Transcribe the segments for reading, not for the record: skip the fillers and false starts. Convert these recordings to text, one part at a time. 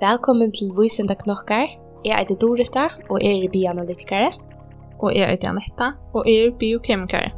Velkommen til Vísindaknokkar. Jeg heter Dorita, og jeg er bioanalytikere. Og jeg heter Anetta, og jeg er biokemikere.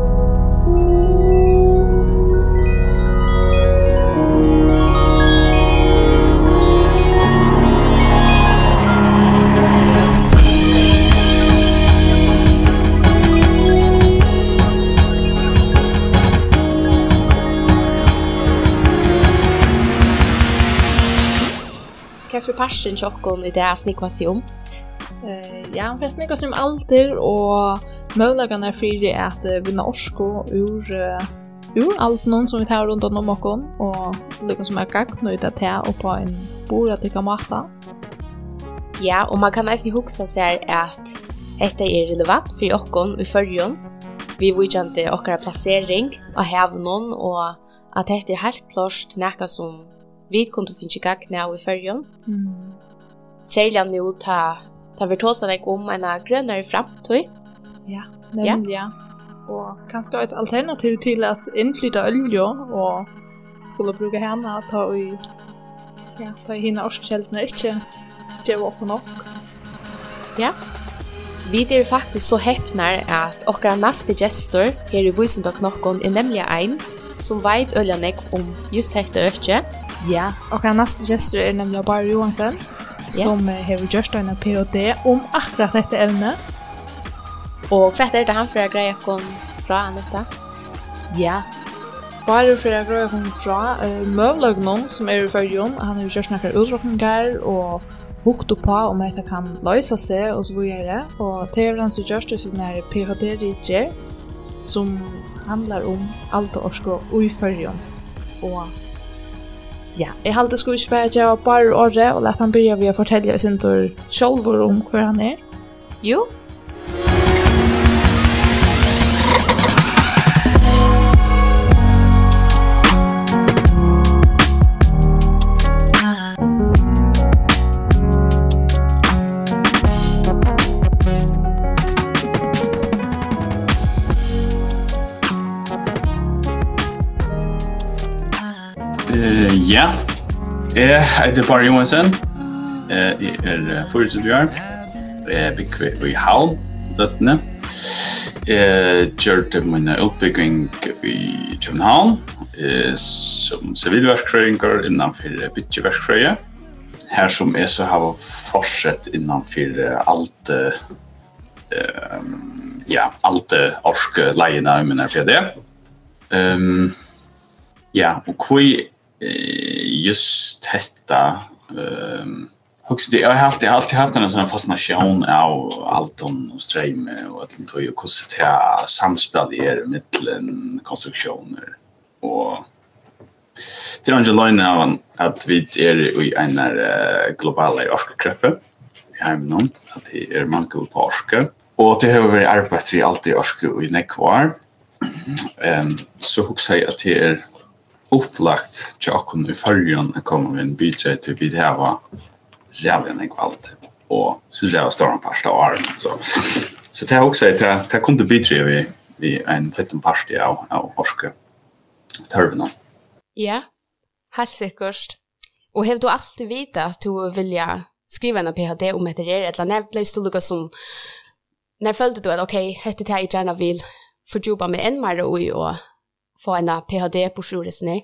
Hva for parsen tjokken i det snikva seg om? Ja, for snikva seg om alder, og mulighetene for at vinna orsko ur alt noen som vi tar rundt om okken, og lykke som gagn ut av det og på en bordatikka mata. Ja, og man kan nesten hugsa seg at dette er relevant for okken i førjon. Vi vidjante okkara plassering av hevnen, og at dette er helt klart nekka som vi kunne finne gagn av i førjon. Særlig nå ta vi tåsa deg om en grønnere fremtid. Ja, nemlig ja. Og kanskje et alternativ til at innflytta olje og skulle bruke henne ta i henne orskekjeltene, ikke gjøre opp nok. Ja. Vi er faktisk så heppner at okkara neste gestor her i Vísindaknokkar er nemlig en som vet øljanek om just dette økje. Ja, og neste gestor er nemlig Bar Johansen, som har gjort en PhD om akkurat dette evnet. Og hva er det han for å greie fra Anetta? Ja, bare for å greie fra møvløgnen som er i førjon. Han har gjort noen utrykninger og hukt opp på om dette kan løse seg og så videre. Og det er han som gjør det som er PhD-ritter, som handler om alt og orsko i førjon. Og ja, jeg halte skulle ikke bare gjøre bare året, og lette han begynne ved å fortelle oss ikke selv om hva han er. Jo. Ja, jeg heter Bar Johansen. Jeg er 24 år. Jeg bygger i Havn, Løttene. Jeg gjør min utbygging i København som sivilverksfrøyinger innenfor bytjeverksfrøye. Her som jeg så har fortsett innenfor alt orske leiene i min PhD. Ja, og hva just detta jag har alltid haft en sån fascination av allt och ström och att det ju kostar det samspel är mellan konstruktioner och det är angeläget att vi är i en global orskekreppe i hemmen att det är mangel på orske och det har varit arbetat vi alltid orske i nekvar så hugsa jag att det är upplagt tjocken i förrjun att komma med en budget till vi det var jävligt ekvalt och så jag står en par år så det har också det kunde bidra vi en fitten parti av orske törvna. Ja, helt sikkert. Och har du alltid vita att du vill skriva en PhD om det eller när blev det lika som när följde du att okej, hette det jag gärna vill fördjupa mig än mer och få en PhD på sjuresen.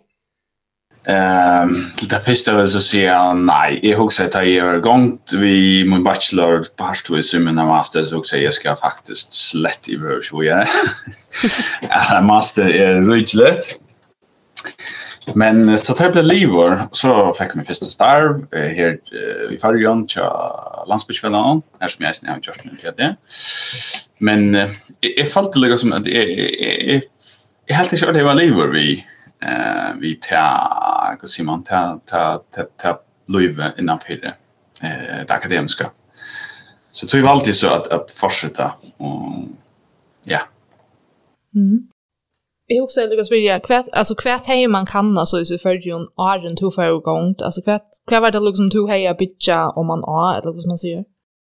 Det första vill jag säga nej. Jag har sagt att jag har gått vid min bachelor på Harstvis och mina master så också jag ska faktiskt slett i början. Master är rydligt. Men så tar jag blev livor så fick jag min första starv här i Färjön till landsbygdsfällan här som jag har gjort min PhD. Men jag fallt lite som att jag helt inte det var livor vi ta Simon ta Louise innanför det akademiska. Så tror jag alltid så att fortsätta och ja. Jag också lyckas vilja kvart hej man kan alltså i förrjun åren två för gång alltså kvart var det liksom två heja bitcha om man eller vad man säger.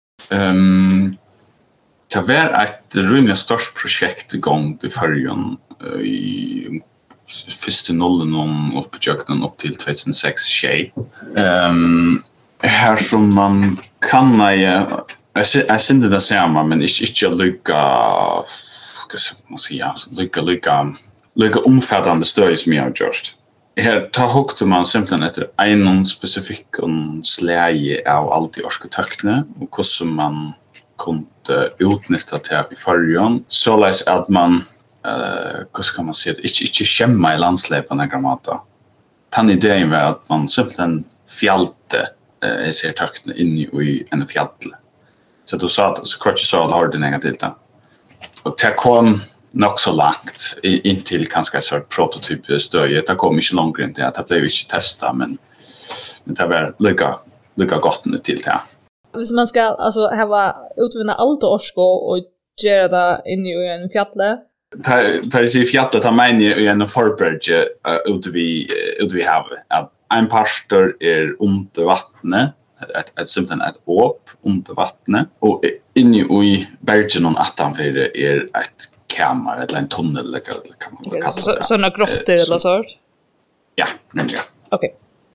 Det var ett rymligt stort projekt igång i förrjun i första nollen om uppjökten upp till 2006 tjej. här som man kan jag ser inte det samma men inte lycka ska man säga lycka omfattande stöd som jag har gjort. Här tar hukte man simpelthen efter en specifik släge av allt i arkitekterna och hur man kunde utnyttja det i förrjön så att man hur ska man säga inte skämma i landsläpen gramata. Den idén var att man simpelthen fjallte ser takten in i en fjäll. Så du sa att så kvart så att har det negativt. Och det kom nog så långt in till kanske så prototyp stöd. Det kom inte långt in till att det blev inte testa men det var lika gott nu till det. Hvis man ska alltså ha utvinna allt orsko och göra det in i en fjäll. Det är fjället av mig i en förberge ute vid havet. Att en pastor är under vattnet, ett simpelthen ett åp under vattnet och inne i bergen och attanför är ett kammare eller en tunnel eller kan man kalla det. Såna grottor eller så? Ja, nämligen. Okej.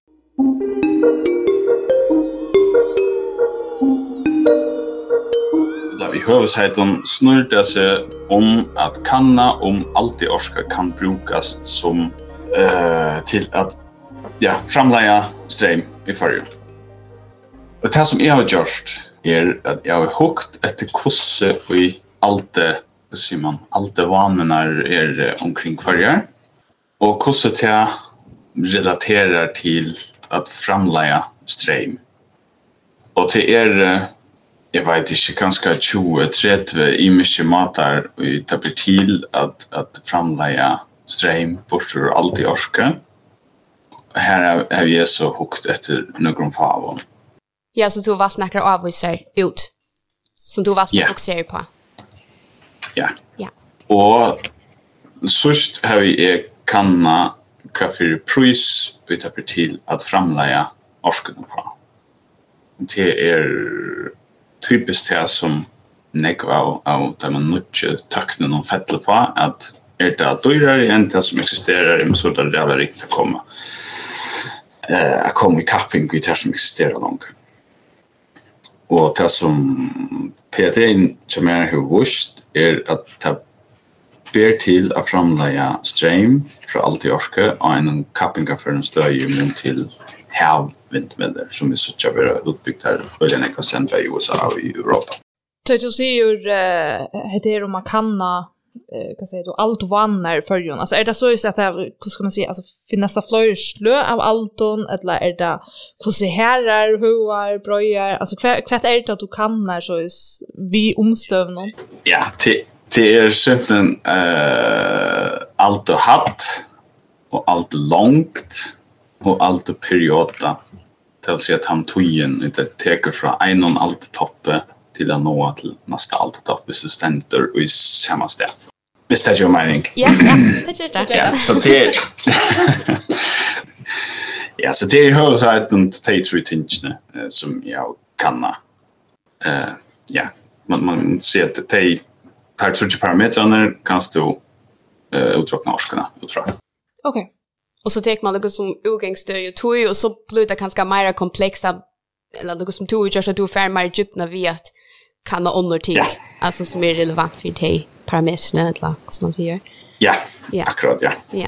I huvudsäten snurrar sig om att kanna om allt i orska kan brukas som till att framlägga ström i färgen. Och det som jag har gjort är att jag har hukt efter kurser i allt det vanorna är omkring färger och kurset jag relaterar till att framlägga ström. Och till jag vet inte, ganska 20-30 i mycket matar och det blir till att framlägga ström bort ur allt i orska. Här är vi så hukt efter någon favon. Ja, så du valgt snackar avvisar ut. Som du valgt att fokusera på. Ja. Och först har vi kanna kaffe pris och det blir till att framlägga orsken på. Det är typiskt det som negva av där man nutcher takten och fettel på att det dyrare än det som existerar i så där det är riktigt att komma i kapping i det som existerar långt. Och det som PTN som är huvudvust är att det ber till att framlägga ström för allt i orska och en kappingar för en stödjum till havvindmöller som är så att vara utbyggt här och den är centra i USA och i Europa. Du säger det om man kanna kan säga då allt vannar förjon. Alltså är det så att det hur ska man säga alltså finns det fler slö av allton eller är det hur se herrar hoar bröjar alltså kvart är det att du kannar så är vi omstövnon. Ja, det är simpelthen allt och hatt och allt långt och allt och perioda till sig att han tojen inte teker från en och allt toppe till att nå till nästa allt toppe så ständer i samma ställe. Visst är det ju mening? Ja, det är det. Ja, så det ja, så det är ju så att de tar ut tingene som jag kan ja, man ser att det tar ut parametrarna kan stå utdragna orskarna utifrån. Okej. Och så tar man något som utgångsstöd och tog och så blir det ganska mer komplexa eller något som tog just att du får mer djupna vet kan under ting alltså som är relevant för dig parametrarna eller vad ska man säga. Ja. Akkurat ja. Ja.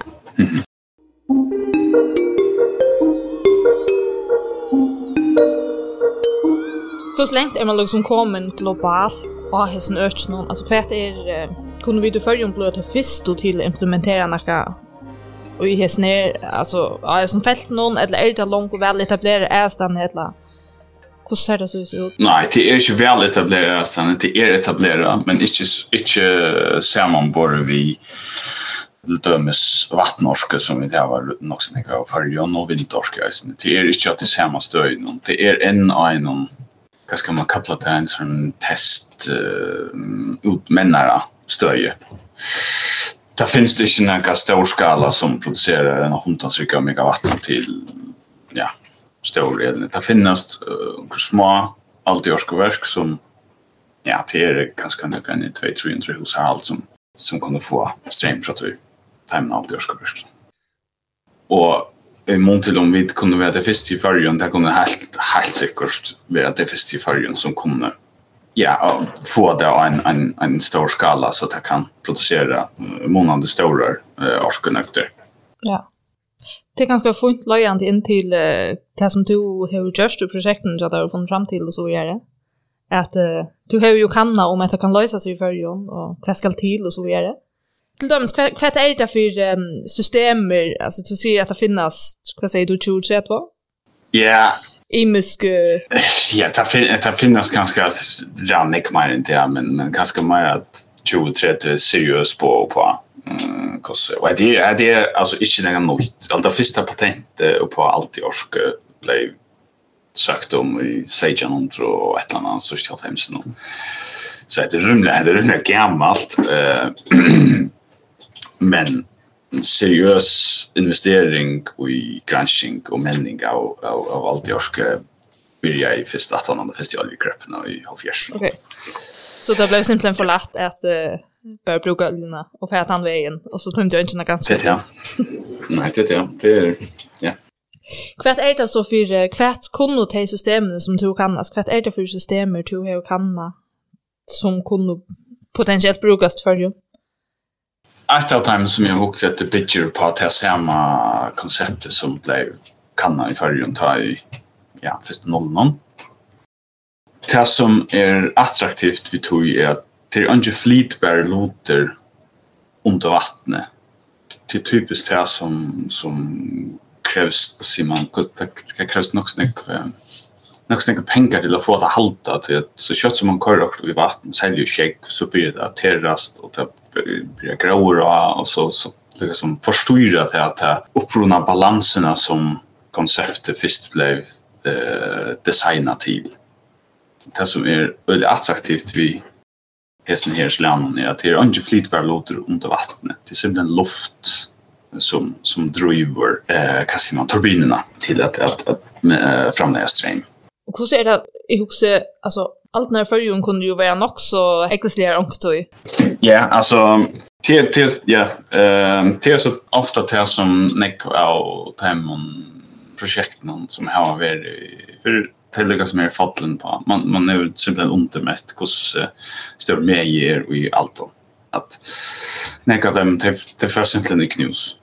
Hur länge är man liksom kommen global och har sån öch någon alltså kvart är kunde vi då förjon blöta först till implementera några och i häsner alltså som fält någon eller är det långt och väl etablerade ästan eller hur ser det så ut? Nej, det är inte väl etablerade ästan, det är etablerade men inte sammanbor vi dömes vattnorska som vi har nog så mycket av förjon och vindorska. Det är inte att det samma stöd det är en vad ska man kalla det en sån test utmännare stöd. Det finns det inte någon stor skala som producerar en 100 megawatt till stor el. Det finns små alltjorskoverk som det är ganska någon i 200-300 hushåll som kunde få ström från tajmen alltjorskoverk. Och i mån till om vi kunde vara det första i färgen, det kunde helt säkert vara det första i färgen som kunde få det en stor skala så att det kan producera många stora årskonökter. Ja. Det är ganska fint löjande in till det som du har gjort i projekten så där och funnit fram till och så vidare. Att du har ju kanna om att det kan lösa sig i färgen och vad ska till och så vidare. Till döms, vad är det för systemer, alltså du ser att det finns, vad säger du, 2032? Ja. Imisk... Ja, det finns ganska rannig mer än det, men ganska mer att 2030 seriöst på. Och det är alltså inte något nytt. Allt det första patentet på allt i orsk blev sökt om i 1600 och ett eller annat socialt hemskt. Så det är rymligt gammalt. Men seriös investering i granskning och mening av allt i orsk börjar i första 1800 festivalgreppen i Halfjärs. Okej. Så det blev simpelthen för lätt att börja bruka oljerna och fäta han vägen och så tänkte jag inte ganska. Det ja. Nej, det är ja. Vad är det så för kvart kunde ta systemen som du kannas? Vad är det för systemer du har kanna som kunde potentiellt brukas för ju? Ett av dem som jag hukt efter bygger på att det samma konceptet som blev kanna i färgen ta i första nollan. Det som är attraktivt vid tog är att det är inte flytbara låter under vattnet. Det är typiskt det som krävs, Simon, det krävs nog snäcka pengar till att få det halta. Så kött som man kör också i vatten, säljer käck, så blir det terrast och det blir gråa och så det som förstyrar det att det uppruna balanserna som konceptet först blev designat till. Det som är väldigt attraktivt vid hästen här slangen är att det är inte flytbara låter under vattnet. Det är simpelthen luft som driver turbinerna till att framlägga ström. Och så är det i huset, alltså allt när förrjun kunde ju vara nog så ekvislerar omkring. Ja, alltså det är så ofta det som näck av projekten som har varit för tillägga som är fallen på. Man är simpelthen undermätt hur stor medier i allt att näka dem till för simpelthen i knus.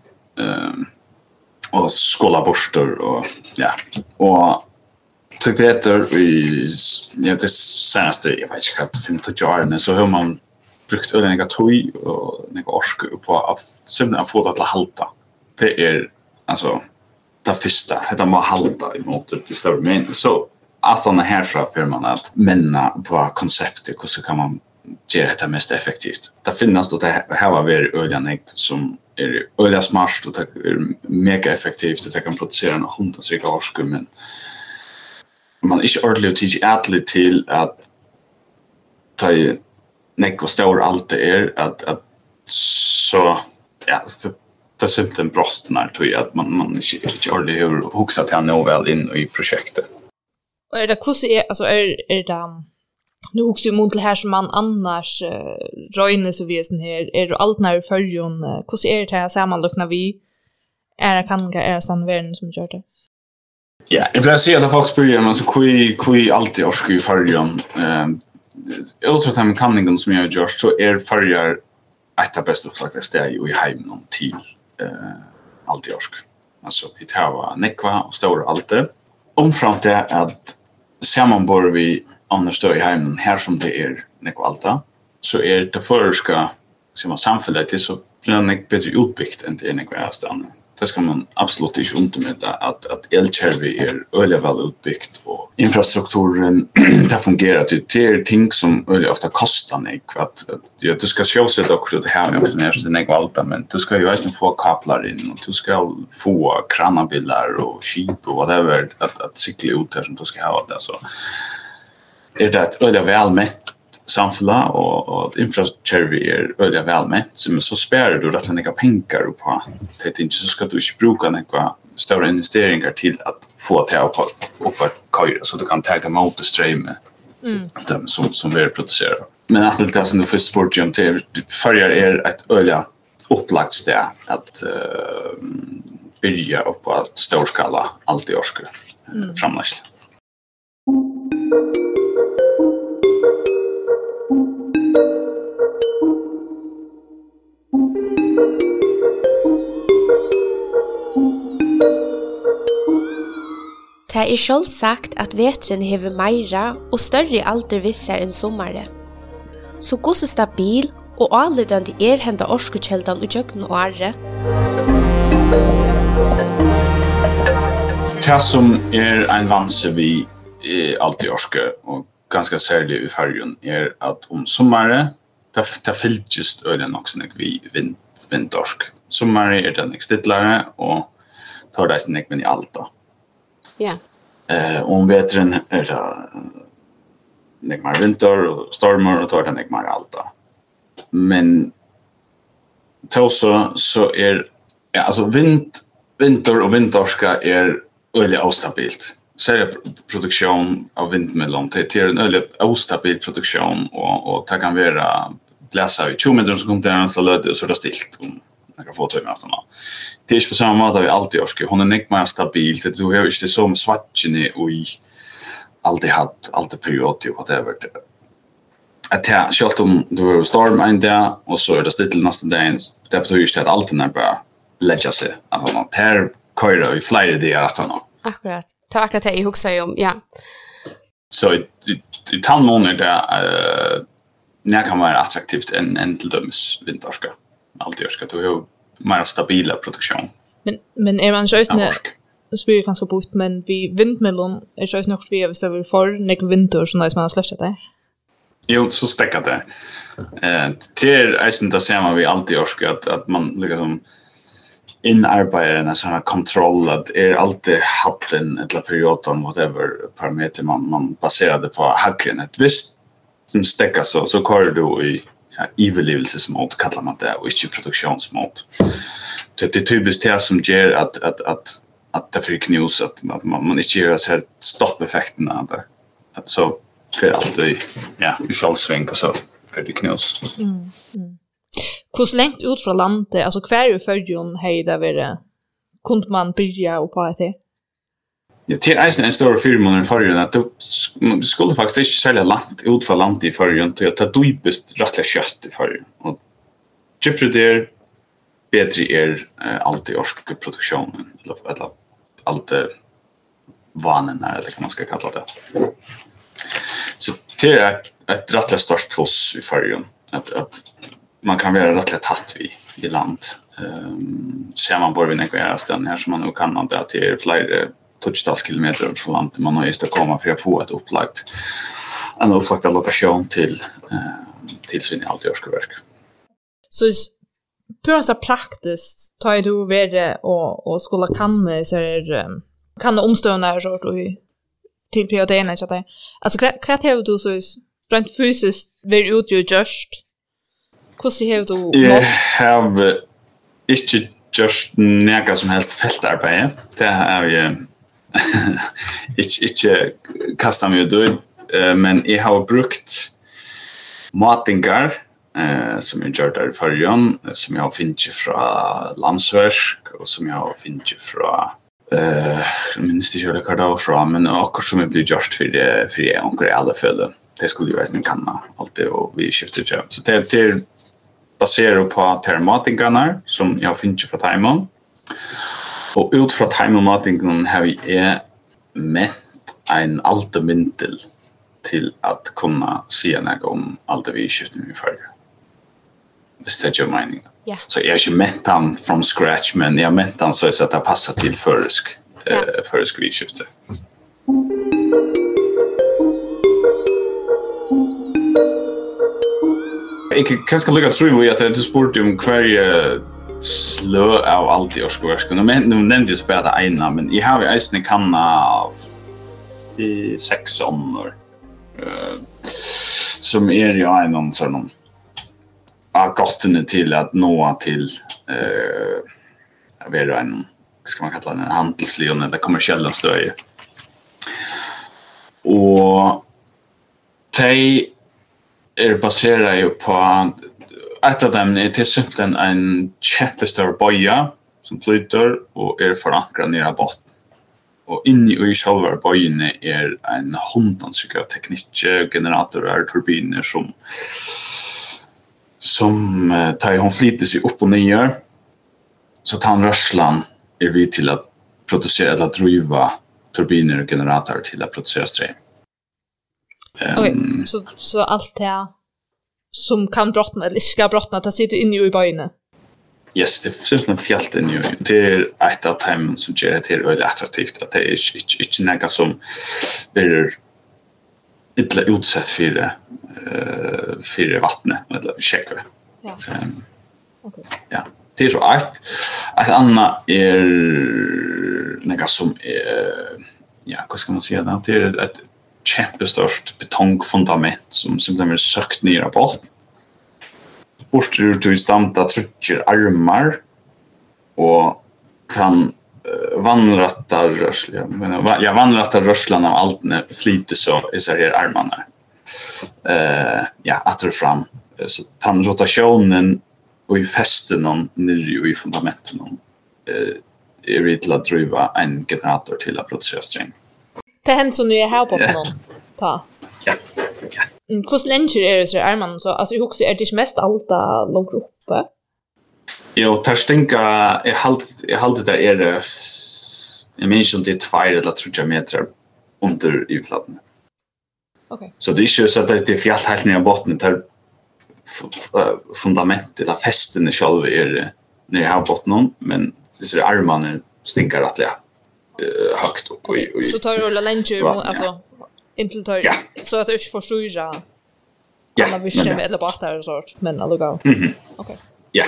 Och skåla borstar och och typ heter i det senaste jag vet inte 15 år så har man brukt olika toy och några orsk på att simpelthen få det att halta. Det är alltså det första det måste halta i mot det stora men så att han här så för man att menna på konceptet hur så kan man göra det mest effektivt. Det finns då det här var väl öljan som är ölja smart och det är mega effektivt det kan producera en hundratals orsk men man är inte ordentligt tidigt till att ta näck och stor allt det är att så det är simpelthen brostnar tror jag att man inte ordentligt har huxat till nå väl in i projektet. Och är det alltså är det nu huxar ju mot det här som man annars röjner så visen här är det allt när förrjun hur är det här sammanlökna vi är standvärden som gör det. Ja, jag vill säga att folk börjar men så kui alltid orsk i färjan. Utrott här med kanningen som jag har gjort så är färjar ett av bästa faktiskt det är ju i hemmen till alltid orsk. Alltså vi tar nekva och stora allt det. Omframt det att sammanbor vi annars då i hemmen här som det är nekva alta så är det förska som man samfället till så blir det bättre utbyggt än det är nekva härstande. Det ska man absolut inte undermäta att elkärvi är öliga väl utbyggt och infrastrukturen det fungerar det är ting som öliga ofta kostar nek att du ska sjösätta också det här med när det är allt men du ska ju också få kablar in och du ska få kranabilar och skip och whatever att cykla ut där som du ska ha det så är det ett öliga väl med samfälla och infrastruktur är öliga väl med så sparar du rätt några pengar på det inte så ska du inte bruka några stora investeringar till att få det upp att köra så du kan ta emot ström dem som vi producerar. Men att det som du först sport om till förr är ett öliga upplagt ställe att börja upp på stor skala allt i orske framläggsel. Det är själv sagt att vetren hever meira och större alder vissar än sommare. Så gå så stabil och anledande hända orskukäldan och jögn och arre. Det som en vanse vi alltid orske och ganska särskilt i färgen att om sommare det fyllt just öden också när vi vindorsk. Sommare den stittlare och tar det snäck men i alta. Ja. Om vetren det nekmar vinter och stormar och tar det nekmar alta. Men så alltså vinter och vindorska öliga ostabilt. Särskilt produktion av vindmelon till en öliga ostabil produktion och det kan vara bläsa i 20 meter som kommer till löd och så är det stilt om några få timmar efter. Det är inte på samma måte vi alltid orskar. Hon är inte mer stabil. Du har inte så med svartjene och alltid haft alltid period och whatever. Att jag själv om du har storm en dag och så är det stilt nästa dag. Det betyder inte att alltid när bara lägga sig. Alltså, här köra i flera dagar att han har. Akkurat. Det var akkurat det jag huxar om, ja. Så i tandmånader där när kan vara attraktivt en till dömes vinterska. Alltid orska. Du har mer stabila produktion. Men är man sjösne spyr ganska bort men vi vindmelon är sjösne också vi över för nek vinter så när man har släppt det. Jo, så stäcker det. Till isen där ser man vi alltid orska att man liksom inarbetar en sån här kontroll att alltid haft en eller perioden whatever parameter man baserade på hackren. Ett visst som stäcker så kör du i överlevelsesmått kallar man det och inte produktionsmått. Så det är typiskt det som gör att det får knus att man inte gör så här stoppeffekterna att så för alltid i självsväng och så för det knus. Hur långt ut från landet alltså kvar i förjon hejda det kunde man börja och på det. Ja, till en stor firma i förrjun att du skulle faktiskt inte sälja långt ut från landet i förrjun till att ta djupast rättliga kött i förrjun. Och gyppret bättre alltid orskproduktionen eller alltid vanen eller vad man ska kalla det. Så det är ett rättliga stort plus i förrjun att man kan vara rättliga tatt i land. Ser man bara vid några ställen här som man nu kan man det till flera touchstallskilometer från landet man har just att komma för att få ett en upplagd lokation till sin i allt görskeverk. Så purasta praktiskt tar du vara och skulle kan omstående så till perioden så att alltså vad har du så rent fysiskt vill utgöra just hur ser du jag har inte just några som helst fältarbete det är ju inte kasta mig ut men jag har brukt matingar som jag gör där i förrjön som jag har finnit från landsverk och som jag har finnit från minst inte hur det från men också som jag blir gjort för onkel i alla fall det skulle ju verkligen kunna alltid och vi skiftar jobb så det är baserat på termatingarna som jag har finnit från Taimon. Och ut från timematingen har vi mätt en altemintel till att kunna se något om allt vi skiftar med för. Visst det gör mening. Yeah. Så jag har inte mätt han från scratch men jag mätt han så att det passar till föresk vi skiftar. Jag kan ska lycka tro att det är sport om kvar slö av allt i årsverken. Nu nämnde jag bara det ena, men jag har ju ägstning kanna i 6 år. Som är ju en sån gottene till att nå till jag vet en ska man kalla det en handelslion eller kommersiella stöj. Och de är baserade på ett av dem är till exempel en jättestor boja som flyter och förankrad nere av botten. Och inne i själva böjene en hundansikt av teknikgeneratorer, turbiner som tar hon flyter sig upp och ner. Så tar rörslan vi till att producera eller driva turbiner och generatorer till att producera ström. Okej, så allt det som kan brottna eller ska brottna, det sitter inne i böjene. Yes, det finns en fjällt inne. Det är ett av timmen som gör det till väldigt attraktivt. Att det är inte något som blir inte utsatt för vattnet eller käkare. Ja. Okay. Ja, det är så ett annat något som ja, vad ska man säga det? Det är ett kämpestort betongfundament som simpelthen är sökt ner på botten. Borster till standa trycker armar och kan vandrattar rörslan av allt när flyter så i så här armarna. Ja, att fram så tar rotationen och i fästen någon nere i fundamenten är det till att driva en generator till att producera ström. Det händer så nu är här på någon ta. Ja. Hur länge är det så armarna så alltså jag också är det mest alta långt uppe. Jo, tar stänka är halt där är det jag minns inte 2 eller 3 meter under ytflaten. Okej. Så det är ju så att det är fjällt helt ner i botten där fundamentet eller fästen själva är nere i havbotten men det ser armarna stinkar att högt och så tar du längre alltså implementar så att du inte förstår alla vision eller bara och sånt men alltså okej. Ja.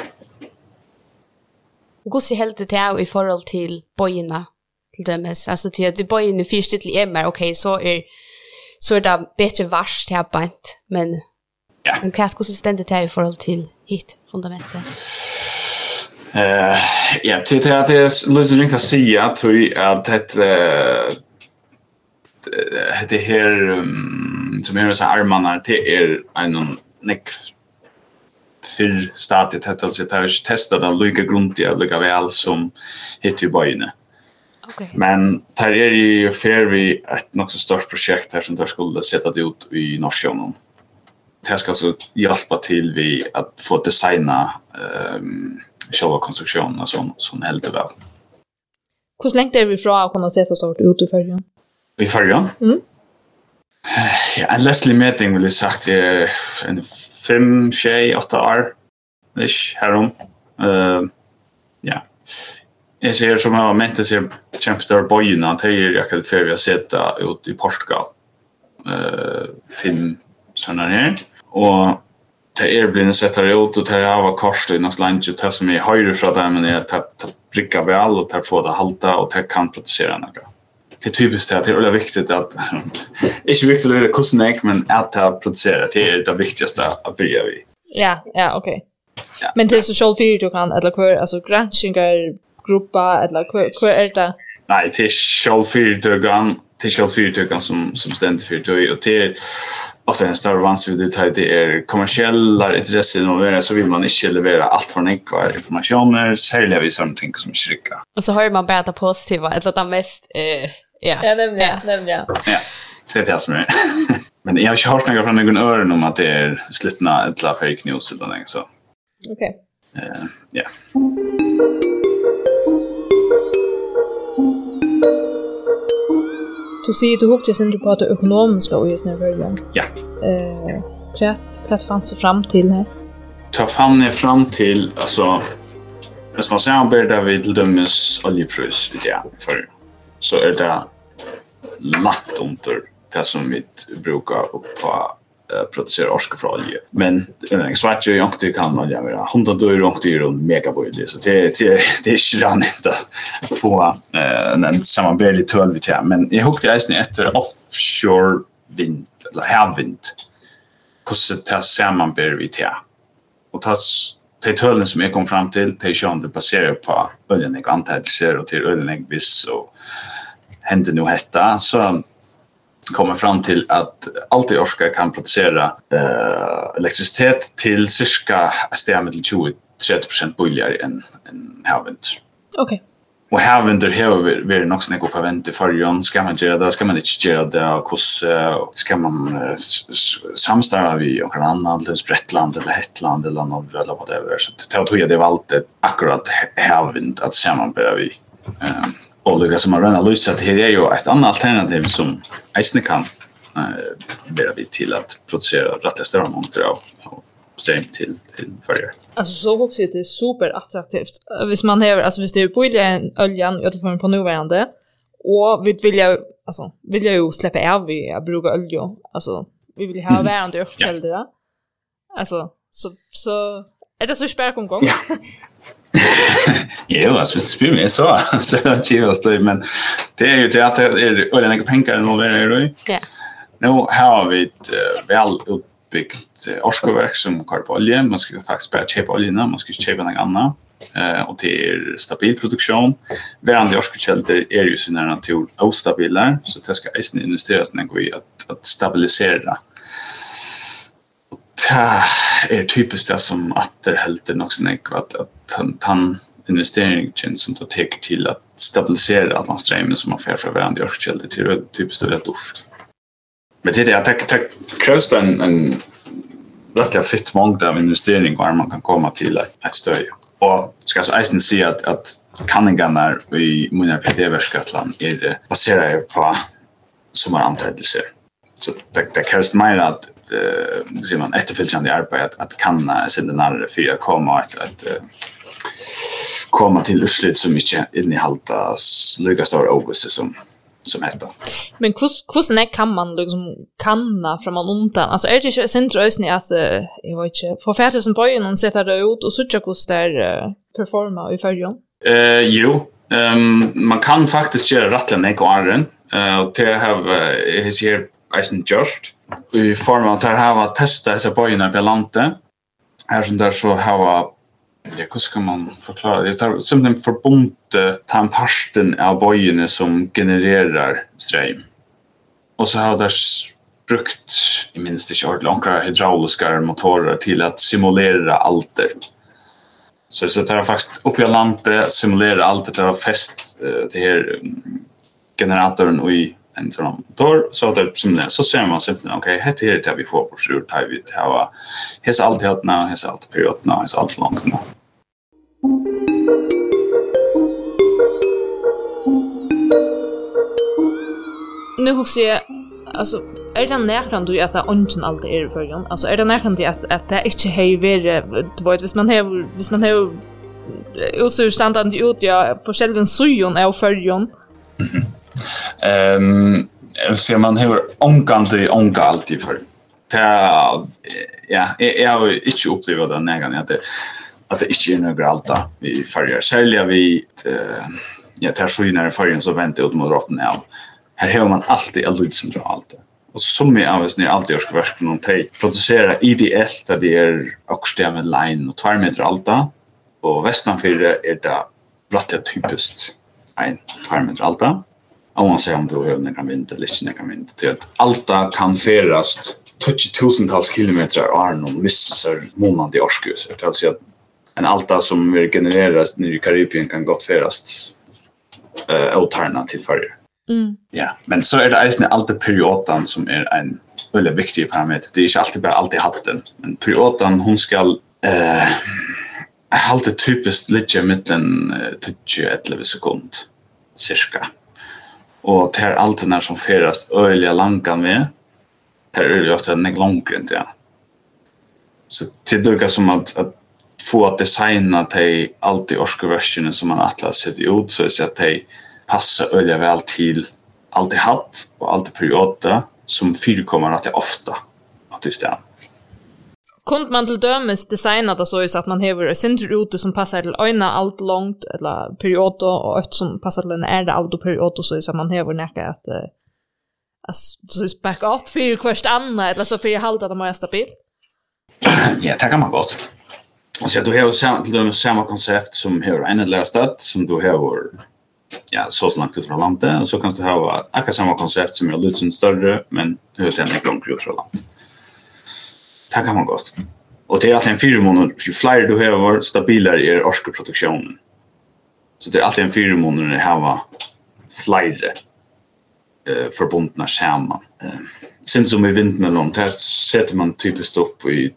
Hur ser helt det här i förhåll till bojorna till dömes alltså till att bojorna först till MR okej så är det bättre vars till bant men men hur ständigt är i förhåll till hit fundamentet. Ja, till att det är lite ringt att säga att det här som är så armarna det är en neck för stadiet att alltså ta testa den lika grundligt lika väl som hit i böjene. Okay. Men här är ju för vi ett något så stort projekt här som där skulle sätta det ut i Norrsjön. Det ska så hjälpa till vi att få designa själva konstruktionen som helt väl. Hur länge är vi från att kunna sätta sort ut i färjan? I färjan? Ja, en Leslie meeting vill jag sagt är en 5-8 år. Ish, härom. Ja. Jag ser som jag har ment att jag kämpar bojorna att jag kan för vi sätta ut i Portugal. 5 sådana här. Och det blir en sättare ut och det var kors i något land det som är höjre från där men är att pricka väl och att få det halta och det kan producera något. Det är typiskt att det är viktigt att inte viktigt att veta kostnader men att det producerar det är det viktigaste att börja vid. Ja, okej. Ja. Men det är så självfyrt du kan eller kvar alltså granskningar gruppa eller kvar är det? Nej, det är självfyrt som ständigt fyrt och det och sen större vanskligt det är kommersiella intressen och så vill man inte leverera allt för enkla informationer särskilt vid something som skicka. Och så hör man bara det positiva eller det mest Ja, nämligen. Ja, det är det som är. Men jag har inte hört några från någon öron om att det är slutna ett fake news eller något så. Okej. Ja. Du säger du hukte sen du på det ekonomiska och just när början. Ja. Vad fanns det fram till här? Ta fram till alltså när man ser där vid dömes oljepris vid det för så är det lagt under det som vi brukar på producera orska från olja. Men svart ju inte kan olja vara 100 euro megabyte så det är inte att få en samarbetlig tull vid det. Men jag hukte ägstning efter offshore vind eller havvind. Hur det sammanber vid det. Och det tullen som jag kom fram till det är det baserar på oljan och antagligen och till oljan viss och händer nu hetta så kommer fram till att allt i orska kan producera elektricitet till cirka 20-30% billigare än havvind. Okej. Och här under här vi nog snäcka på vänt i förjon ska man göra det, ska man inte göra det, och ska man samstarva vi och annan eller Sprättland eller Hetland eller något eller vad det är, så jag tror det var alltid akkurat här att samarbeta vi och det som man redan lösa det här är ju ett annat alternativ som Eisne kan bära vi till att producera rätt större mängder av ström till följare. Alltså så också det är superattraktivt. Hvis man har alltså hvis det är billig oljan jag får på nuvarande och vi vill ju släppa av vi att bruka olja. Alltså vi vill ha värande överkällor. Alltså så är det så spärr gång. Ja, alltså det spelar mig så chivas det, men det är ju det att det är olika pengar involverade i. Ja. Nu har vi ett väl uppbyggt årsverk som kör på olja. Man ska faktiskt bara köpa oljan, man ska köpa något annat. Och det är stabil produktion. Varandra årskällor är ju sin natur ostabila, så det ska investeras när i att stabilisera. Det är typiskt det som atterhälter nog snäck att han investeringen som tar täcker till att stabilisera alla strömmen som man får från varandra årskällor till det typiskt det dåligt. Men det är att det krävs en rätt fritt mångd av investeringar man kan komma till ett stöd. Och ska så Eisen säga att kanningarna i Munnar PD-verkskatlan är baserade på sommarantagelser. Så det krävs mer att ser man efterföljande arbete att kanna sedan för att komma till utslut som inte innehaltas lika stora ågåse som heter. Men hur kan man liksom kanna från man undan? Alltså är det inte centrösning att jag vet inte få färdigt som början och sätta det ut och så tjocka hur det performa i förjon? Jo, man kan faktiskt göra rättliga nekoaren och det har ser Eisen just i form av att ha testa dessa böjorna på landet. Här som där så har hur ska man förklara det? Det är simpelthen förbundet tandparsten av böjorna som genererar ström. Och så har det brukt i minst inte ordentligt hydrauliska motorer till att simulera alter. Så det är faktiskt uppe i landet simulera alter till att fäst det här generatorn i en sån motor så att så ser man simpelthen okej, det är det vi får på surt här vi har hesa allt helt nu, hesa allt perioderna, hesa allt långt nu. Nu hos jag alltså är det närkant du att det ongen alltid är i förjon? Alltså är det närkant att det inte har varit du vet hvis man har utståndet ut ja forskjellige sujon av förjon. Ser man hur ånga alltid för ja, jag har ju inte upplevt det nägan att det inte är några alta vi färger. Sälja vi ja, tar skynar i färgen så väntar ut mot rotten av. Här har man alltid en lydcentralt. Och som är av oss när alltid ska verka någon tej producera ideellt där det är också med line och 2 meter alta. Och västanfyra är det rätt typiskt en 2 meter alta. Om man säger om du har några vind eller inte några vind. Till att alta kan färdas 20,000-tals kilometer och är någon missar månad i årskurs. Det vill säga att en alta som vill genereras nere i Karibien kan gott färdas åtarna till färger. Ja, men så är det Eisen alltid perioden som är en väldigt viktig parameter. Det är inte alltid bara alltid hatten. Men perioden hon ska alltid typiskt ligga mellan 20-11 sekund cirka. Och det är alltid när som färdas öliga lankan med. Det är ju ofta en längre än det. Så det är som att få att designa till alltid årskurversionen som man alltid sätter ut så är det att det passar öliga väl till alltid hatt och alltid perioder som förekommer att det ofta att just det. Kunde man till dömes designa det så att man har centrute som passar till öjna allt långt eller perioder och ett som passar till en ärda allt perioder så att man har näka att så back up för kvart andra eller så för jag hålla det mer stabilt. Ja, det kan man gott. Och så du har samma koncept som har en eller stad som du har ja, så långt ut från landet och så kan du ha akkurat samma koncept som är lite större men hur det är långt ut från landet. Det kan man gott. Och det är alltså en 4 månader ju fler du har stabilare är årskaproduktionen. Så det är alltid en 4 månader att ha flera förbundna samman. Sen som i vindmellon, där sätter man typiskt upp i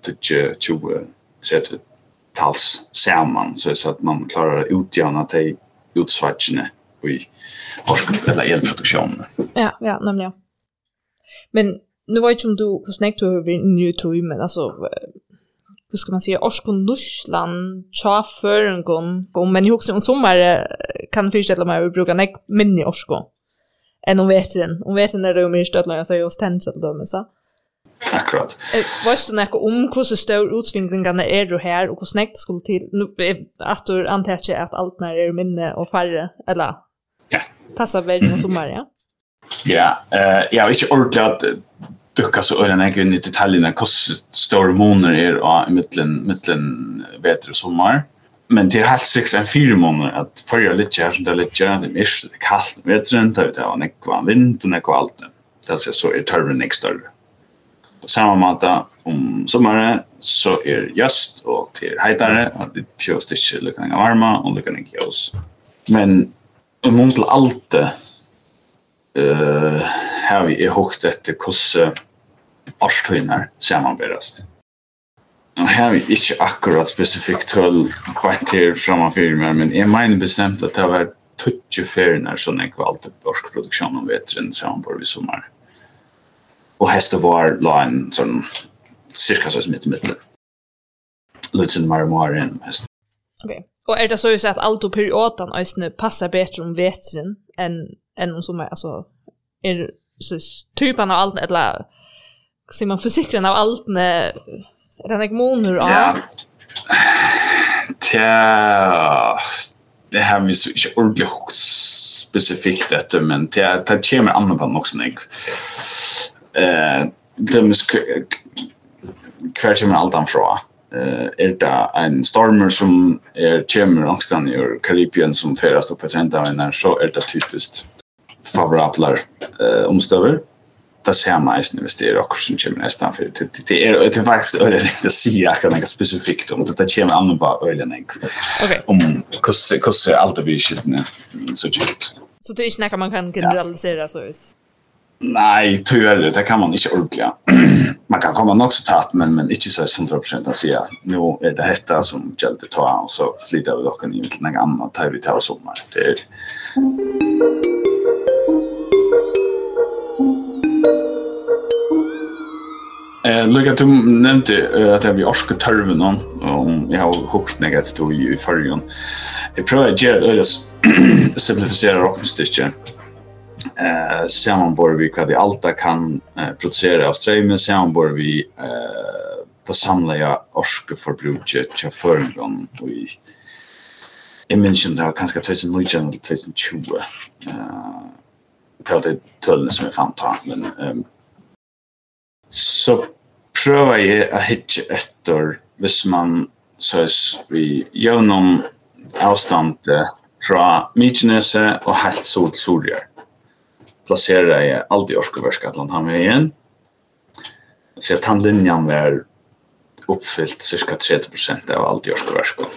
20-tals samman så att man klarar utjämna till utsvartsne i eller elproduktionen. Ja, nämligen. Men nu var det som du hur snägt du har ny tog, men alltså hur ska man säga, Orskon Nussland, Tjaförengon, men jag också om sommar kan förställa mig att bruka nek minni Orskon. Än om vetren. Om vetren är det mer stödlöjande så är jag stänsel då, men så. Akkurat. Vad du näka om hur stor utsvingningarna är du här och hur snägt det skulle till? Nu att du antar jag att allt när är minne och färre, eller passar väl i sommar, ja? Ja, jag har inte orkat att ducka så ölen in i detaljerna hur stor månader är i mitten veter och sommar. Men det är helt säkert en 4 månader att förra lite här som det är lite, det är kallt i vetren, det är nekva vind och nekva allt. Det är så är törven inte större. På samma måte om sommaren så är just och till heitare och det pjöst inte lyckan varma och lyckan inte ljus. Men om man till allt har vi högt efter hur årstøyner sammanberast. Och här har vi inte akkurat specifikt höll kvarter framför mig, men jag menar bestämt att det har varit 20 färger som är kvalt i borskproduktion om vetren sammanbord i sommar. Och häst och var la en sån cirka så mitt i mitten. Lutsen marmar än häst. Okej. Och är det så att allt och perioden ösne passar bättre om vetren än om sommar, alltså är så typen av allt eller ser man försikran av allt när den är månader av? Ja. Det har vi så inte ordentligt specifikt detta, men det kommer annorlunda också när kvar kommer allt anfra. Är det en stormer som kommer någonstans i Karibien som färdas upp på trendavinen, så är det typiskt favorabla omstöver. Det ser man i investera också som kommer nästan för det är faktiskt öligt att säga något specifikt om det kommer annorlunda ölen. Okej. Om hur allt det vi skiltne så ut. Så det är inte man kan generalisera så vis. Nej, tyvärr det kan man inte ordentligt. Man kan komma också tatt men inte så 100% att säga nu är det detta som gäller ta och så flyttar vi dock in i något annat här vi tar sommar. Det är Lugga du nämnde att vi orskar törven om jag har hukt negativt i förrjun. Jag prövar att göra det simplificera rocknstycken. Sammanbor vi vad vi alltid kan producera av strömmen, sammanbor vi det samlade orskeförbruket till förrjun och jag minns inte det var kanske 2019 eller 2020. Det var det tullen som jag fann ta, men så prövar jag att hitta efter hvis man så vi gör någon avstånd från Mykinese och helt solsorger. Placerar jag alltid Orskoverskatland här med igen. Så att handlinjen var uppfyllt cirka 30% av allt i Orskoverskatland.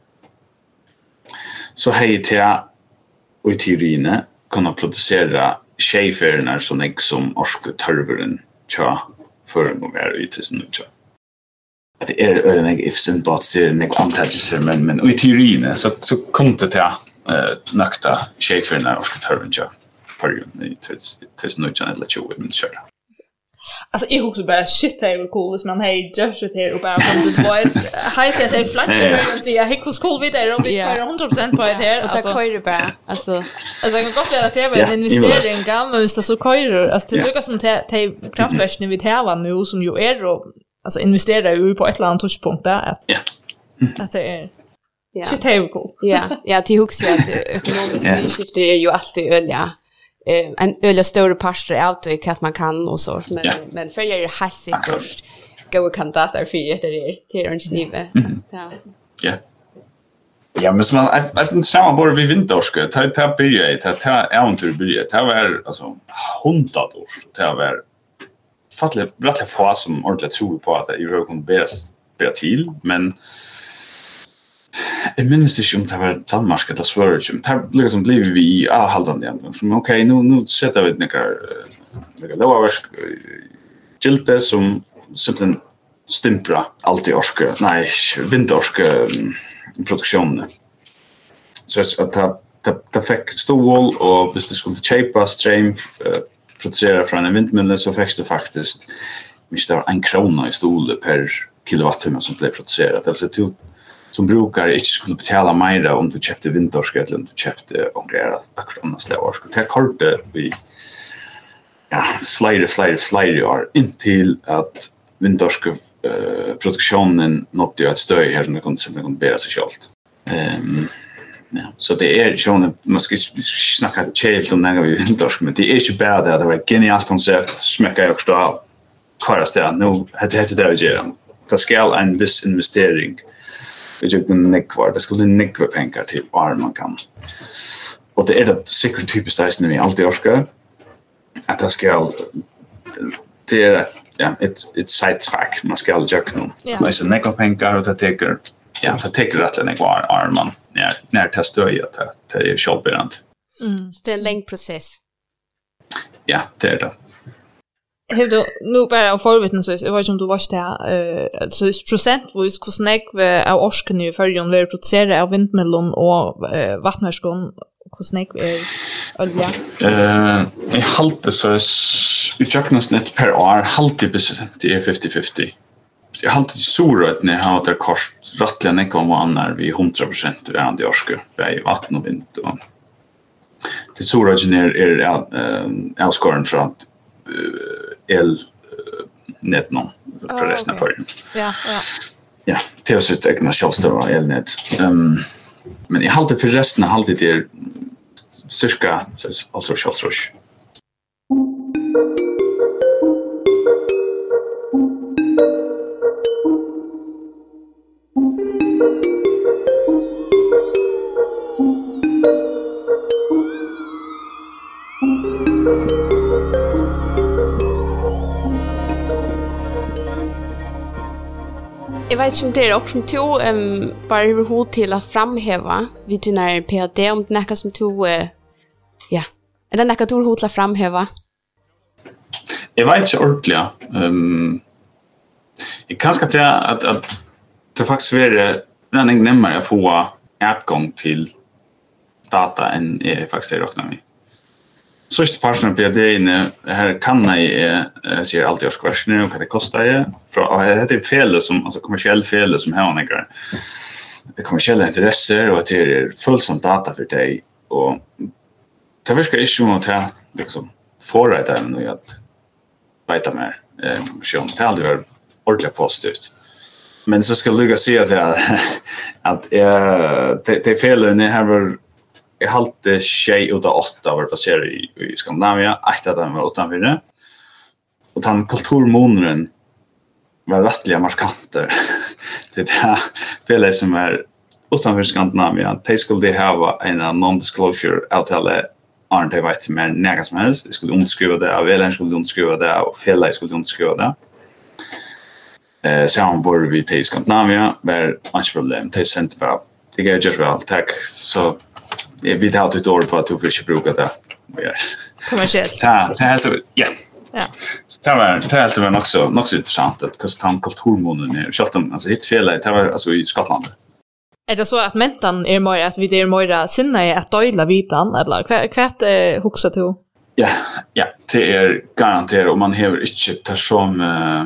Så hej till jag och i teorin kunna producera tjejfärgerna som jag som Orskotörveren tja för en gång är i tusen och tja. Det är en ifsen på att det är en antagelser, men i teorin så kom det till nakta tjejfärgerna och skotörven tja för i tusen och tja eller 20 men kör. Alltså jag också bara shit det är cool man hej just det här och bara kom det var high set det flankar och så jag hej hur cool vi där och vi får 100% på det här alltså det kör bara alltså jag kan gott göra kräva en investering gamla visst så kör alltså det lukar som till kraftverken vi tävlar nu som ju är då alltså investera ju på ett eller annat touchpunkt där att det är shit det är cool ja till hooks att ekonomiska skifter är ju alltid öliga en öliga större parter out och att man kan och så men för jag är helt säkert gå kan ta så för det är inte livet ja men som alltså samma bara vi vinterska ta börja ta äventyr börja ta var alltså 100 år ta var fattligt rätt få som ordentligt tror på att det är kunna bära till men Jag minns inte om det var Danmark eller Sverige. Det liksom blev vi avhållande igen. Som okej, nu sätter vi några lovarverk gilte som simpelthen stimpra alltid orske, nej, vindorske produktionen. Så att det fick stål och hvis du skulle köpa ström producera från en vindmölle så fick du faktiskt mistar 1 krona i stol per kilowattimme som blev producerat. Alltså du som brukar inte skulle betala mer om du köpte vindorske eller om du köpte akkurat annars slavorske. Det kortet vi flera år intill att vindorske produktionen nådde ett stöd här som det kunde bära sig självt. Ja, så det är ju man ska snacka helt om när vi vindorske, men det är ju bara det var genialt koncept, smäcka jag också av kvarasta nu heter det att göra. Det ska en viss investering. Det är ju det skulle nekva pengar till var man kan. Och det är det säkert typiskt att när vi alltid orskar att det ska det är ett sidetrack man ska göra nu. Men så nekva pengar och det täcker rätt när var man när testar jag att det är självbärande. Det är en lång process. Ja, det är det. Hur då nu bara av förvitnen så jag vet inte om du var där så procentvis hur snägg av orsken i förrjun vi producerar av vindmöllon och vattnverskon hur snägg olja. I halte så i kökensnitt per år halte det är 50-50. Jag halte det surret när jag har det kost rättliga nekon när vi 100% är andra orsker i vatten och vind och det surret är avskåren från elnäten för resten av förrjun. Ja, det är så ett egna självstående elnät. Men jag halte för resten halte det är cirka alltså självstående. Jag vet inte det är också som tog bara överhuvud till att framhäva vid när PhD om det näka som tog är det näka tog hot att framhäva. Jag vet inte ordentligt. Jag kan säga att det faktiskt är redan närmare att få tillgång till data än jag faktiskt räknar med. Sista parten av PhD här kan jag ser alltid årskvarsen och vad det kostar det är fel som alltså kommersiell fel som har några kommersiella intressen och det är fullsamt data för dig och det verkar ju som att jag liksom förrätta nu att veta mer som det aldrig var ordentligt positivt. Men så ska du se att det felen här var jag halte 6 ut av 8 var baserad i Skandinavien, 8 av dem var utanför. Och den kulturmånaden var rättliga markanter. Det här felet som är utanför Skandinavien, de skulle ha en non-disclosure avtale Arne de vet mer näga som helst. De skulle underskriva det, av Elen skulle underskriva det, och felet skulle underskriva det. Så han bor vi till Skandinavien, var inte problem. De sände bara, det går just väl, tack. Så vi tar ett år på att du får inte bruka det. Kommersiellt. Det är helt ja. Så det var helt nog så intressant att kostar kulturmånen är självt alltså ett fel det var alltså i Skottland. Är det så att mentan är mer att vi är mer sinna är att dela vitan eller kvart huxa till? Ja, det är garanterat om man har inte tar som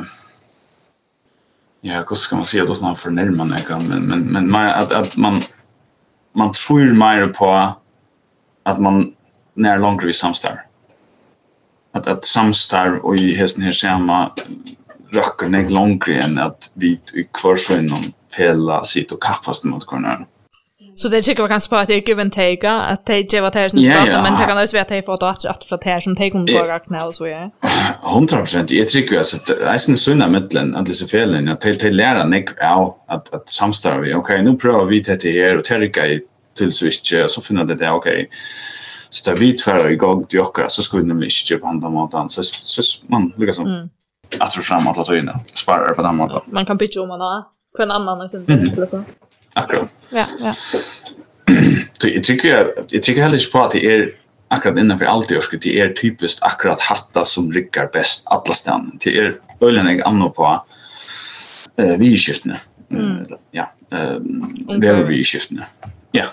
hur ska man säga då snart för närmare men att man tror mer på att man när långt vi samstar. Att samstar och i hästen här samma röker ner långre än att vi i kvarsöjnen fälla sitt och kappas mot kornar. Så det tycker jag kanske på att det är give and take, att det var det som men det kan också vara att det får att från det som take on för och så ja. 100%. Jag tycker alltså att det är sån sunna mitten att det så felen att det lära nek att samstar vi. Okej, nu provar vi det här och tärka i till switch så finner det okej. Så där vi tvär igång till och så skulle nämligen inte på andra måten så man lyckas som att få fram att ta in sparar på den måten. Man kan pitcha om man har på en annan exempel eller så. akkurat. Ja. Jag tycker heller inte på att det är akkurat innanför allt jag skulle det är typiskt akkurat hatta som rycker bäst alla stan. Det är ölen jag annar på vi skiftene. Ja. Det är vi skiftene. Ja.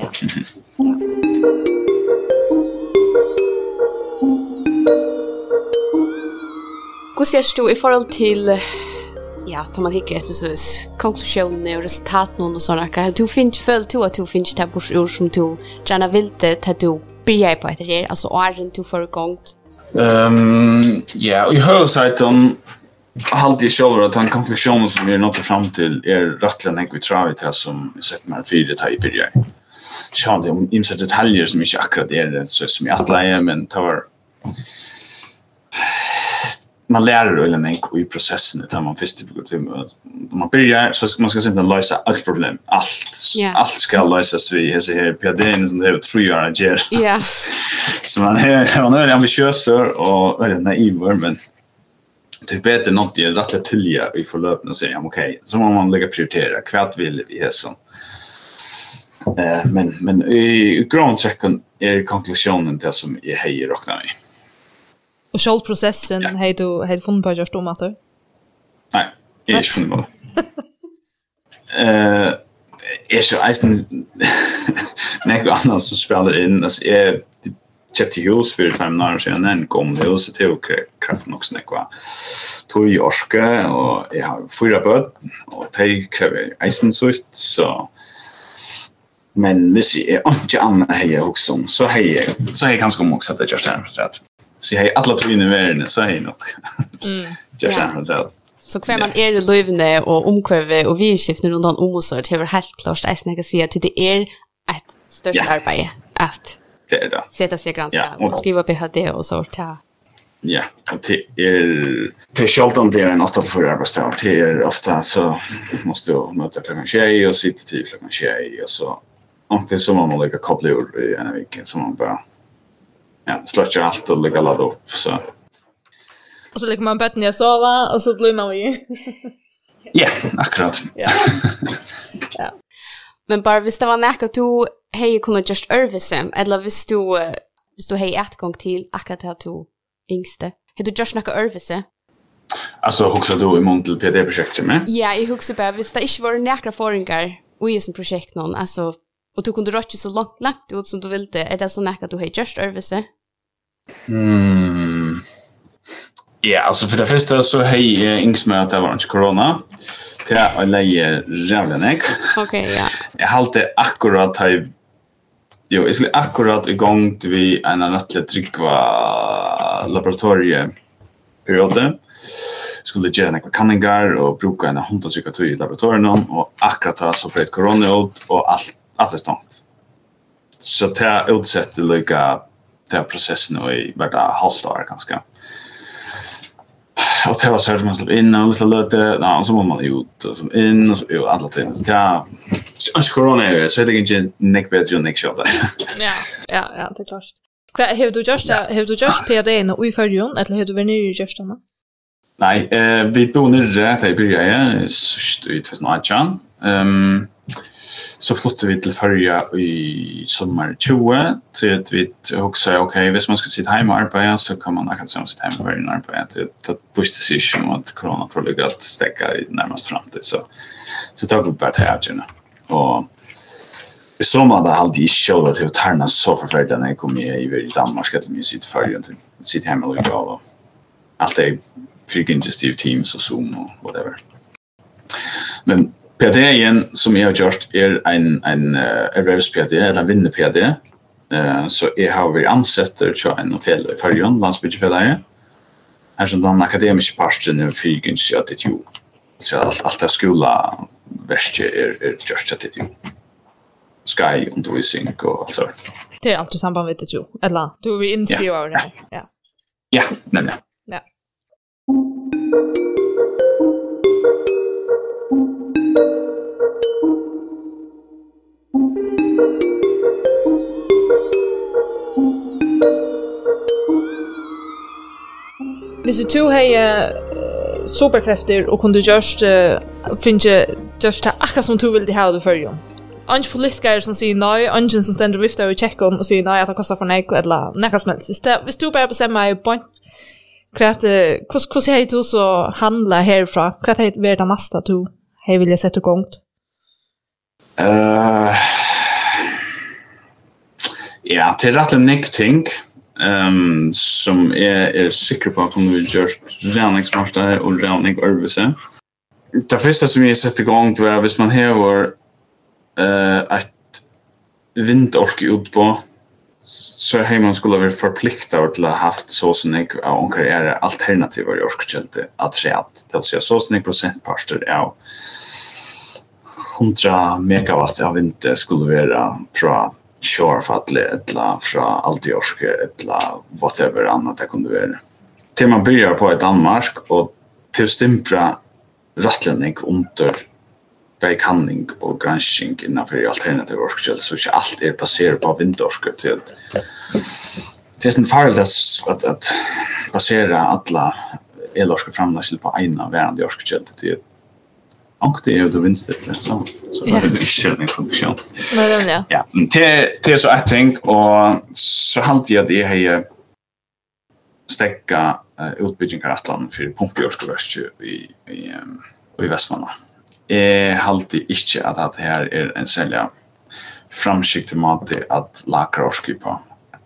Hur ser du i forhold till tar man hickar så konklusioner och resultat någon och sådana. Du finns följt till att du finns där på ord som du gärna vill det att du börjar på det alltså åren du får igång. Ja, och i huvudsaken alltid själv att en konklusion som vi nått fram till är rättligen en kvitravit här som sett med 4 detaljer börjar. Så det om insatt detaljer som inte akkurat är så som jag alla men tar man lär eller nej i processen där man först man börjar så man ska inte lösa allt problem allt ska lösas vi här PD:n som det är 3 år ger. Ja. Så man är ambitiös och är naiv men det är bättre något det rätt tillja i förlöpning och säga okej så må man lägga prioritera kvart vill vi här så men i grundtrecken är konklusionen det som är hej räknar vi. Och själv processen har du funnit på just om att du? Nej, jag är inte funnit på. Är så eisen något annat som spelar in alltså är köpte hus för 5 år sedan en kom det så till kraft nog snäcka. Tog i orska och jag har 4 barn och det kräver eisen så men hvis jag inte annan hejer också så hejer ganska också att det just är så att så jag alla två inne i världen så är nog. Just det. Så kvar man är det lövne och omkväve och vidskiftning runt om så det är helt klart att jag säga att det är ett störst arbete att det är det. Sätta sig granska och skriva PhD och så ta. Ja, och det är självt det är en 8-4 arbetsdag. Det är ofta så måste du möta klockan 6 och sitta till klockan 6 och så och det är som man lägger koppla ur i en vecka som man bara släcker allt och lägger ladda upp så. Och så lägger man bötten i sola och så blir man ju. Ja, akkurat. Ja. Men bara hvis det var näka du hej kunde just överse eller hvis du hej ett gång till akkurat det du yngste. Har du just näka överse? Alltså huxar du i Montel PD-projektet med? Ja, jag huxar bara hvis det inte var näka föringar i som projekt någon alltså och du kunde röra så långt ut som du ville är det så näka du hej just överse? Ja, alltså för det första så hej ings med att det var inte corona. Till att lägga rävlenek. Okej, ja. Jag halte akkurat här jag skulle akkurat igång till vi en rättligt tryckva laboratorieperiode. Skulle göra några kanningar och bruka en hundtrycka i laboratorien och akkurat ha så för corona och allt är stångt. Så det är utsätt till lika den processen och i värda halvt år ganska. Och det var så här man släpp in och lite löte, och så var man ut och så in och så alla ting. Ja, corona är så det inte neck bättre än neck shot. Ja, det är klart. Har du just PhD i förrjun eller har du varit ny just då? Nej, vi bor nere där i början så i 2018. Så flyttade vi till Färja i sommar 20 till att vi också okej, hvis man ska sitta hemma och arbeta så kan man kanske sitta hemma och arbeta till att push decision att corona får ligga att stäcka i närmast framtid så tar vi bara till här och i sommar där hade jag själv att tarna så förfärligt när jag kom i Danmark att vi sitter Färja till sitta hemma och jobba och allt är freaking teams och Zoom och whatever. Men PhD igen som jag har gjort är en erhvervs-PhD eller en vinner-PhD. Så jag har varit ansett till en fel i Färjön, landsbygdsfället. Här som den akademiska parten är fyrgens att det ju. Så allt det skola värst är just att det ju. Sky, undervisning och så. Det är alltid samband med det ju. Eller, du är inspirerad det. Ja, nämligen. Ja. Hvis du har superkrefter och kunde just finna just det akkurat som du vill det här du följer. Ange politiker som säger nej, ange som ständer viftar i checken och säger nej att det kostar för nej eller något som helst. Hvis du bara bestämmer i point hur säger du så handla härifrån? Vad är det nästa du vill jag sätta igång? Ja, till rätt ting som är säker på att kommer vi göra reningsmarstar och rening örvelse. Det första som jag sätter igång det var hvis man har ett vindorke ut på så har man skulle vara förpliktad till att haft så snägg av onkreera alternativa orskkällor att säga det vill säga så snägg procentparter av 100 megawatt av vind skulle vara från Shorefall eller från Altiorske eller whatever annat det kunde vara. Till man börjar på ett Danmark och till stämpra rättlägg under bekanning och granskning innanför alternativa orskkällor så inte allt är baserat på vindorske till det är en farligt att basera alla elorske framlägsel på ena värande orskkällor till och det är då vinstligt så har det inte funktion. Men ja, det är så att tänk och så halt jag det här stäcka utbyggningar atlan för pumpjordskovärst i Västmanland. Halt inte att det här är en sälja framskikt mat att lagra orski på.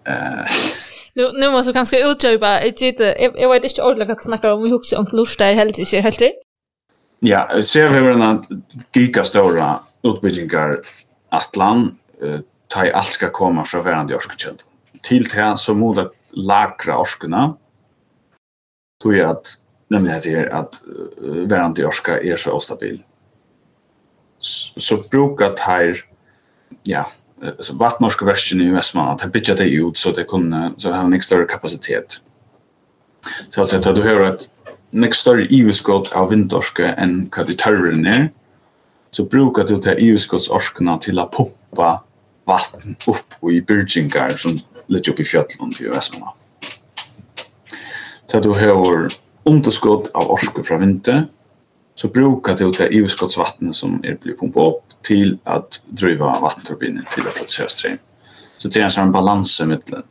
Nu måste kanske utdjupa jag vet inte ordentligt att snacka om hur om lust där helt det. Ja, ser vi en gigastora utbyggningar atlan ta allt ska komma från värande orskkällor. Till det så måste lagra orskorna. Tror jag att nämligen det är att värande orska är så ostabil. Så brukat här så vattnorska versionen i Västmanland att bygga det ut så det kunde så har en större kapacitet. Så att du har ett mycket större EU-skott av vindorske än vad du törren är så brukar du ta EU-skottsorskorna till att pumpa vatten upp i byrgingar som ligger upp i fjällen i Västmanland. Så du har underskott av orske från vinter så brukar du ta EU-skottsvatten som är blivit pumpat upp till att driva vattenturbiner till att producera ström. Så det är en sån balans mellan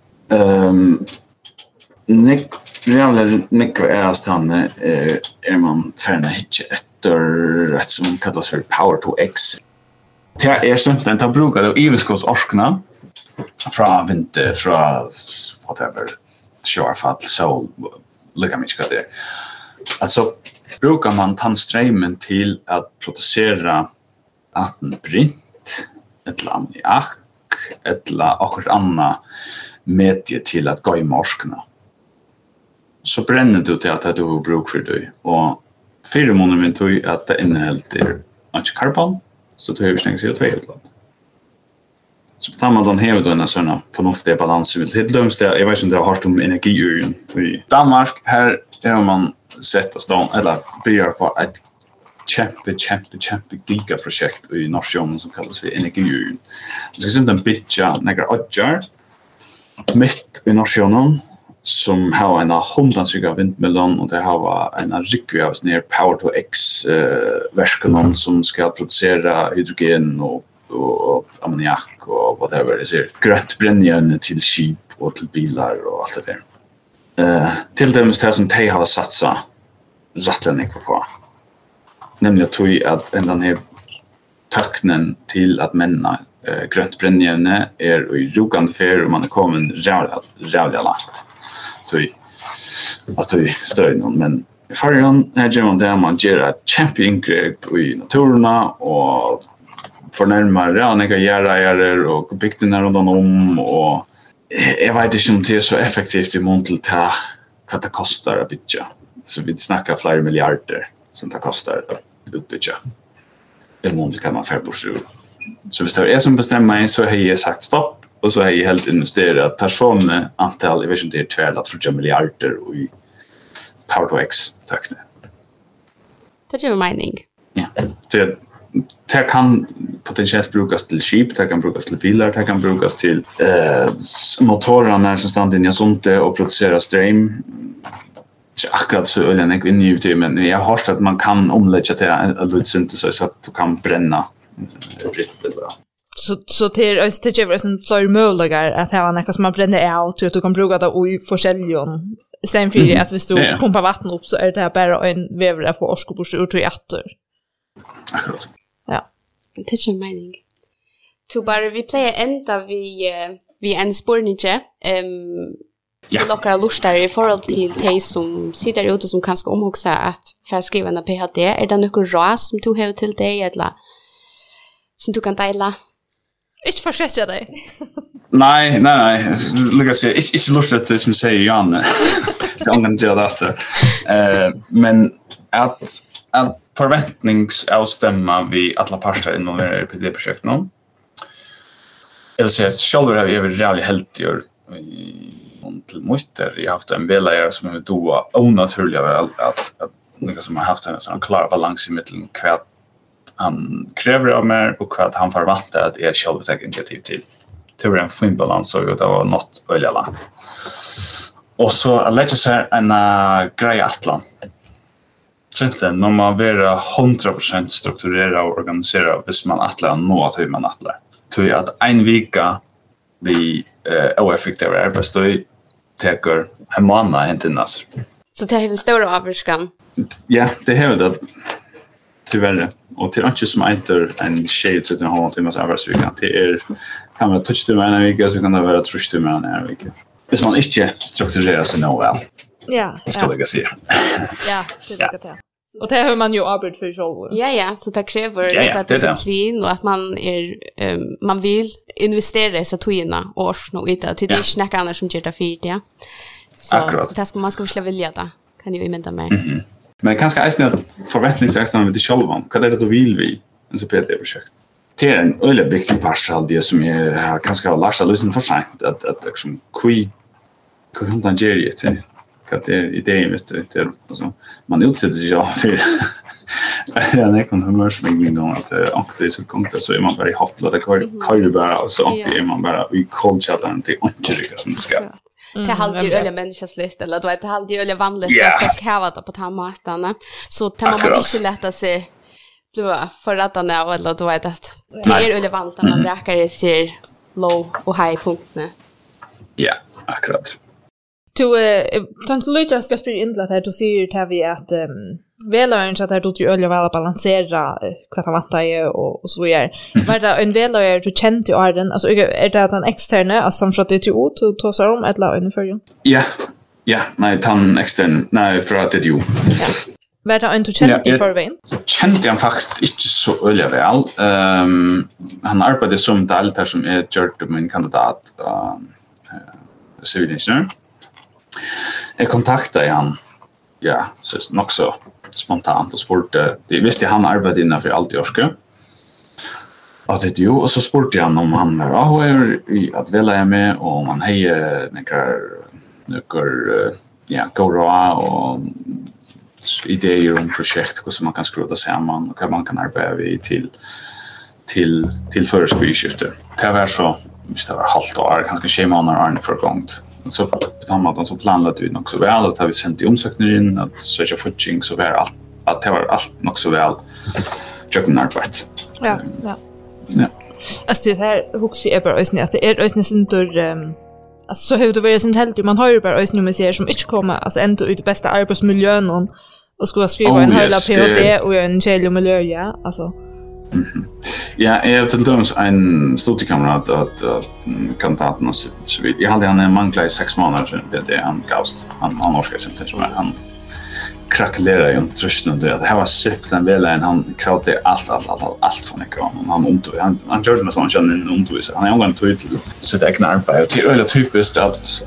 Nick är är man färna hit efter rätt som kallas för Power to X. Det är sånt den tar brukar då EU-skottsorskorna från vinter från whatever Shorefall sol lika mycket det. Alltså brukar man tandströmmen till att producera brint ett ammoniak eller något annat medie till att gå i morskorna. Så bränner du till att du har bruk för dig. Och 4 månader med tog att det innehåller antikarbon så du har stängt CO2 utland. Så på tamman har du en sån förnuftig balans med till lugnt jag vet inte det har om energiuren i Danmark här har man sett att stå eller börjar på ett kämpe gigaprojekt i Norrsjön som kallas för energiuren. Det ska sen en bitcha några odjar mitt i Norrsjön som har en 100 vindmöllon och det har en riktig av ner Power to X versionen som ska producera hydrogen och ammoniak och whatever det är grönt brännjärn till skip och till bilar och allt det där. Till dem som de har satsat rättligen på. Nämligen att den här takten till att männa grönt brännjärn är i rogande färg och man är kommit rävliga lagt. Att vi stöder någon, men i färgen är man där man gör ett kämpeingrepp i naturerna och förnärmar rävliga gärare och bygderna runt om och jag vet inte om det är så effektivt i mån till vad det kostar att bygga. Så vi snackar flera miljarder som det kostar att utbygga. I mån till kan man färgbostur. Så hvis det är som bestämmer så har jag sagt stopp och så har jag helt investerat personer antal, jag vet inte det är 2 eller 3 miljarder i Power to X takten. Det är ju mening. Ja, det kan potentiellt brukas till skip, det kan brukas till bilar, det kan brukas till motorerna som stannar inne i sånt och producera ström. akkurat så ölen jag in i men jag har hört att man kan omlägga till en lite så att du kan bränna fritt eller så till det är en fler möjligheter att ha något som man bränner ut och du kan bruka det i försäljning. Sen för att vi står pumpar vatten upp så är det bara en vävare för årskopors ut i åter. Akkurat. Ja. Det är en mening. Så bara vi plejer ända vi en spårninge. Ja. Lockar lustar i forhold till de som sitter ute som kanske omhuxar att för skriva en PhD. Är det något ras som du har till dig eller som du kan dela? Inte försöka dig. Nej. Lukas, inte lustigt det som säger Jan. Det engagerar det. Men att förväntningsavstämma vi alla parter involverade i det projektet nu. Jag vill säga att själva har vi realligt helt gjort till mutter. Jag har haft en velare som är då onaturliga väl att några som har haft en sån klar balans i mitten vad han kräver av mig och vad han förväntar att är själv ta initiativ till. Det var en fin balans och det var något öliga långt. Och så lägger sig en grej atlan. Sen när man är 100% strukturerad och organiserad hvis man atlar nå att hur man atlar. Tror jag att en vecka vi oeffektiv arbetsdag täcker en månad inte nas. Så det är en stor avskan. Ja, det har det tyvärr. Och till inte som inte en shade så att man har timmars arbetsvecka. Det kan man touch till en vecka så kan det vara trust till en vecka. Hvis man inte strukturerar sig nå väl. Ja. Ska jag säga. Ja, det är det. Och det har man ju arbet för själv. Ja, så det kräver disciplin och att man vill investera i så tojerna och och inte till det snacka annars som gör det för det. Så det ska man ska väl vilja det. Kan ju invänta mig. Men kanske är det förväntningsextra med det själva. Vad är det du vill vi en så PT-projekt? Det är en öle viktig part av det som är kanske har lärt sig lyssna för sent att liksom hur han ger det till att idén vet du alltså man utsätter sig för en ekon humörsvängning gång att och det så konkret så är man bara i hoppla det kan ju bara och så är man bara i coldchatten till inte som det ska. Det halvdjur öliga människors list eller då är det halvdjur öliga vanligt att folk har det på tammatarna så tar man inte lätta sig då förrättarna eller då är det är öliga vanligt man räkar ser low och high punkterna. Ja, akkurat. Tant Lucas ska spela in att du ser att vi att välaren så att du öliga väl balansera vad han vantar och så vidare. Var det en välare du kände i arden alltså är det den externa alltså som för att det är ut och ta sig om ett la under förrän. Ja, nej tan extern nej för att det ju. Var det en du kände i förväg? Kände han faktiskt inte så öliga väl. Han arbetade som deltagare som är gjort min kandidat civilingenjör. Jag kontaktade han så nog så spontant och spurte. Det visste han arbetade innan för allt i Orske. Och det ju och så spurte han om han är att välja med och man hejer några gåra och idéer om projekt hur man kan skruva samman och hur man kan arbeta vid till förskriftskifte. Det var så visst det var halvt år kanske 6 månader för gångt. Så på den måten så planerade vi nog så väl att vi sände omsökningar in att söka footing så var allt det var allt nog så väl jucken arbete. Ja. Alltså det här huxi är bara ösnä att det är ösnä syntor alltså så hur det var ju helt man har ju bara ösnä med ser som inte kommer alltså ändå ut det bästa arbetsmiljön och ska skriva en hela PhD och en källa miljö ja alltså. Ja, jag har tillsammans en studiekamrat att kandidaten så vidt. Jag hade han manglar i 6 månader det han gavst. Han orskade sig inte han kracklerade ju trusten det här var sitt den väl han kravde allt från ekon. Han gjorde med sån känner undervisare. Han är ungen till sitt egna arbete. Det är typiskt att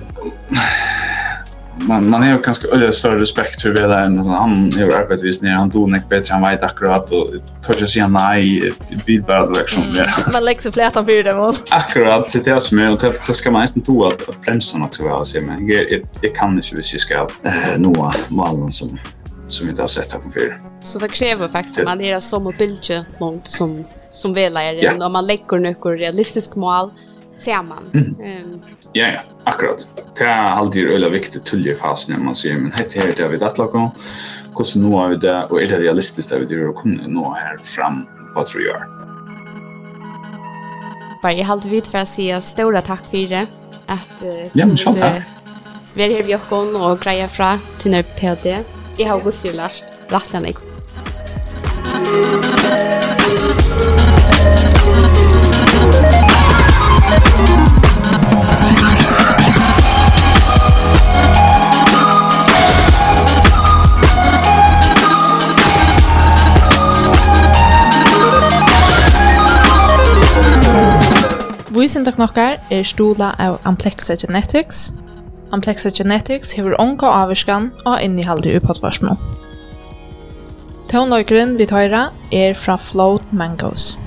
man har ganska större respekt för velaren han har arbetat ner han donek bättre han vet akkurat och tar sig nej vid bara direktion man lägger sig flätan för det mål akkurat det som är och det ska man nästan tro att bromsen också väl se men jag kan inte vi ska nå målen som inte har sett här på för så det kräver faktiskt att man är så mobilt långt som velaren och man lägger några realistiska mål ser man Ja, akkurat. Det är alltid väldigt viktigt till i fasen när man säger men det vi det lagar. Hur nu har vi det och är det realistiskt att vi det kunna nå här fram vad tror jag. Bara jag hade vid för att säga stora tack för det att ja, men så tack. Vi är här vid Jokkon och grejer fra till när PD. Jag har Augusti Lars Rattlanek. Vísindaknokkar stola av Amplexa Genetics. Amplexa Genetics hever onka avvirskan og innehaldet i poddvarsmål. Tonløykeren vi tøyra fra Float Mangoes.